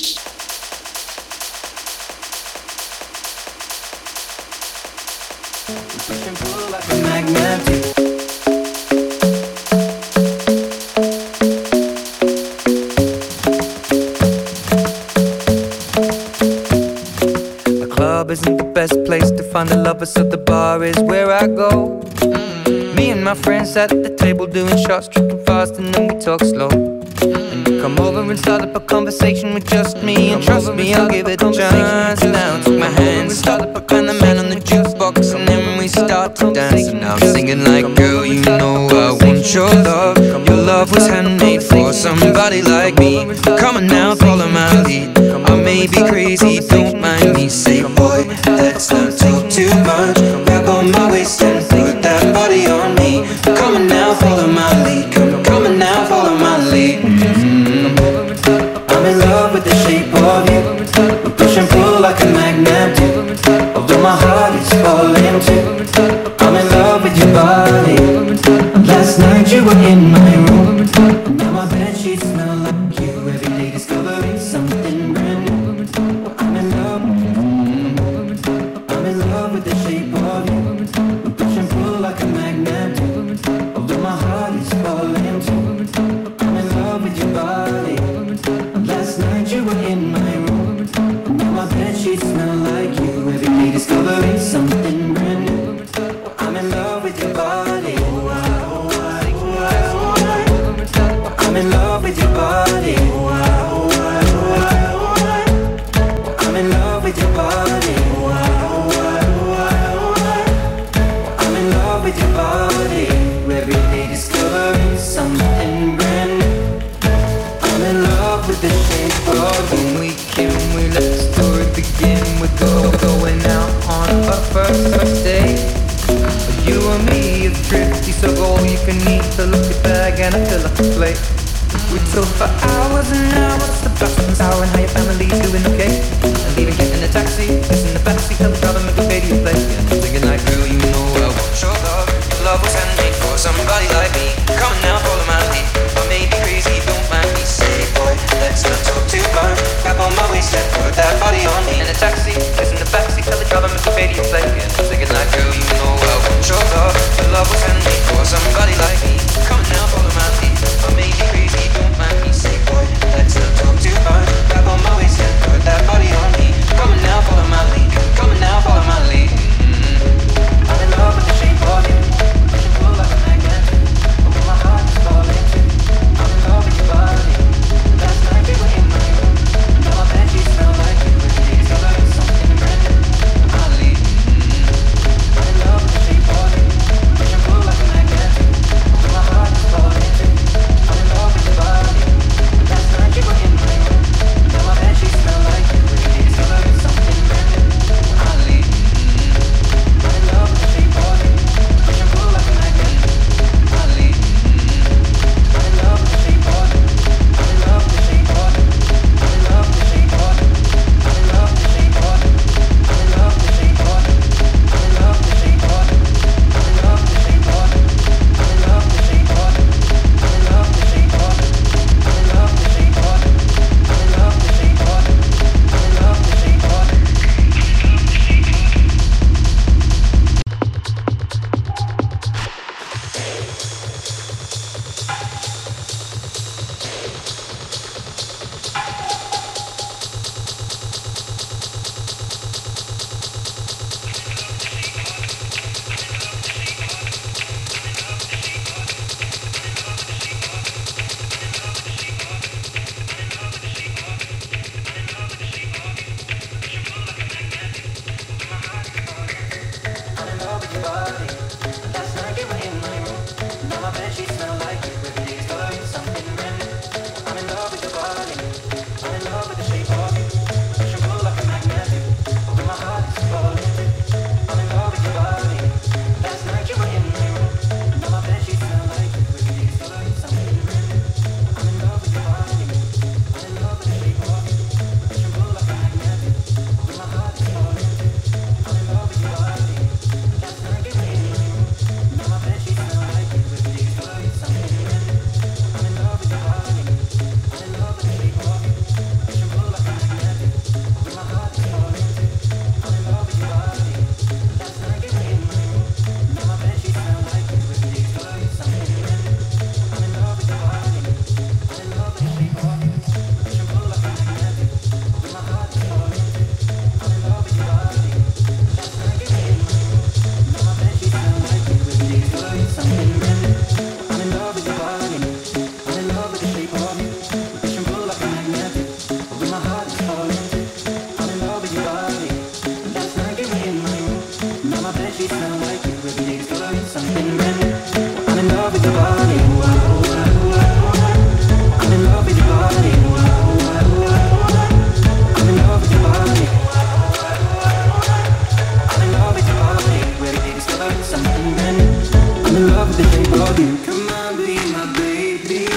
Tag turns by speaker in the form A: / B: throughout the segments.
A: Push and pull like a magnet. Isn't the best place to find a lover, so the bar is where I go. Me and my friends at the table doing shots, tripping fast, and then we talk slow. And you come over and start up a conversation with just me, and trust me, I'll give it a chance. Now take my hand, start up a kind of man on the jukebox, and then we start to dance. And now I'm singing like, girl, you know I want your love. Your love was handmade for somebody like me. Come on now, follow my lead. I may be crazy, don't mind me. Say, boy, let's not talk too much. Grab on my waist and put that body on me. Come on now, follow my lead. Come on now, follow my lead. I'm in love with the shape of you. We push and pull like a magnet do. Although my heart is falling too. I'm in love with your body. Last night you were in my room. Now my bedsheets smell like you. Every day discovering something brand new. I'm in love with the shape of you. We push and pull like a magnet do. Although my heart is falling too. I'm in love with your body. Last night you were in my room. Now my bedsheets smell like you. Every day discovering something brand new. I'm in love with your body. I'm in love with your body. I'm in love with your body. I'm in love with your body. Every day discovering something brand new. I'm in love with the shape of you. When we can, we let the story begin. We're going out on our first date. You and me are thrifty, so all you can eat. Fill up your bag and I fill up the plate. We talk for hours and hours about what's sour and how your family's doing okay. And even getting a taxi, it's in the backseat, tell the driver make the radio play. And I'm thinking like, girl, you know I want your love. Your love was handmade for somebody like me. Come on now, follow my lead. I may be crazy, don't mind me. Say, boy, let's not talk too much. Grab on my waist and put that body on me. In a taxi, it's in the backseat, tell the driver make the radio play. And I'm thinking like, girl, you know I want your love. Your love was handmade for somebody like me. Come on now, follow my lead. I may be crazy, don't mind me. Say, boy, let's not talk too much. Grab on my waist and put that body on me. Come on now, follow my lead. Come on now, follow my lead. I'm in love with the shape of you. Push and pull like a magnet. Although my heart is falling too. I'm in love with your body. Last night we were in my room. Now my bedsheets smell like you. Every day discovering something brand new. My lead. I'm in love with the shape of you. Push and pull like a magnet. Although my heart is falling. I'm in love with your body. Last night you were in my room. Now my bed sheets smell like you. Every day discovering something brand new. I'm in love with your body. I'm in love with your body. I'm in love with your body. I'm in love with your body. Every day discovering something brand new. I'm in love with the shape of you. Come on, be my baby.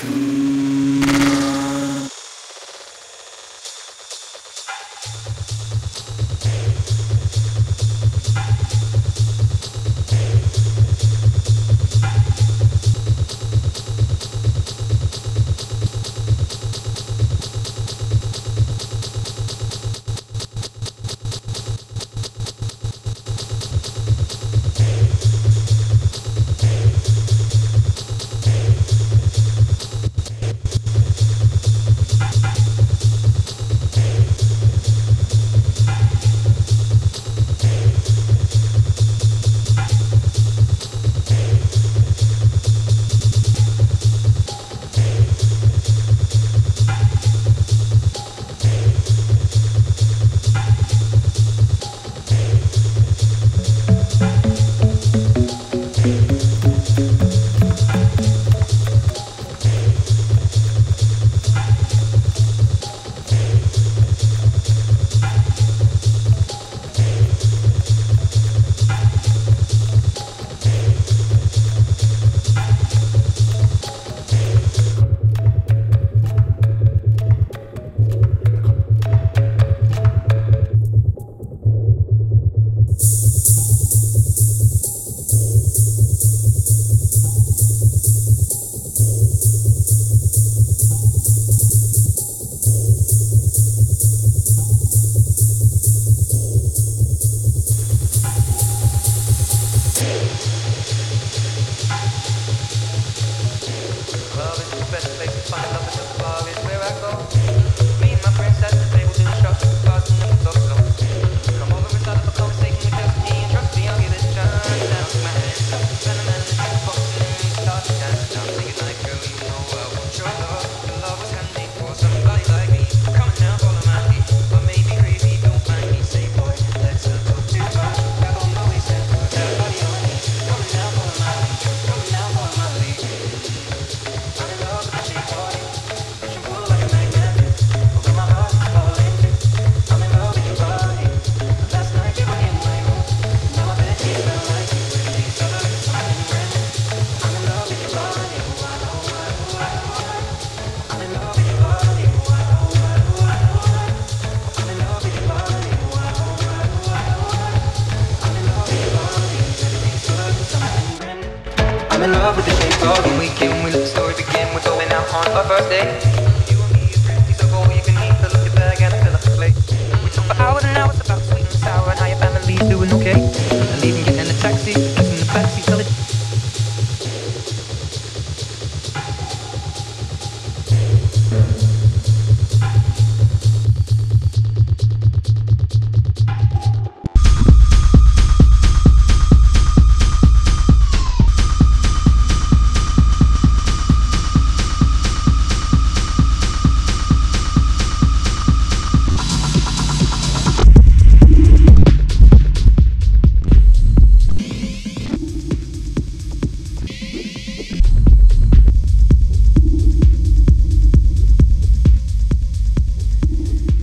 A: I'm in love with the shape of you. We let the story begin. We're going out on our first date. You and me is pretty so cold. You can eat, fill up your bag and fill up the plate. We talk for hours and hours about sweet and sour and how your family's doing okay. And even getting in the taxi, kissing the backseat, tell it.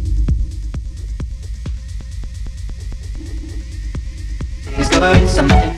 A: Discovering something